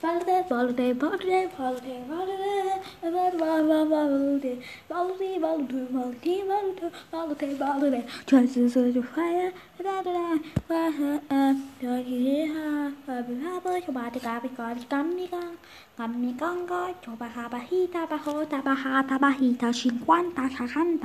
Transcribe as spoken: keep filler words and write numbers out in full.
Valute, valute, valute, valute, valute, valute, valute, valute, valute, valute, valute, valute, just as a fire, da da da, coba dikapi kali kami kan, kami kan kau coba haba hita baho tabaha tabahita cinquanta sesanta.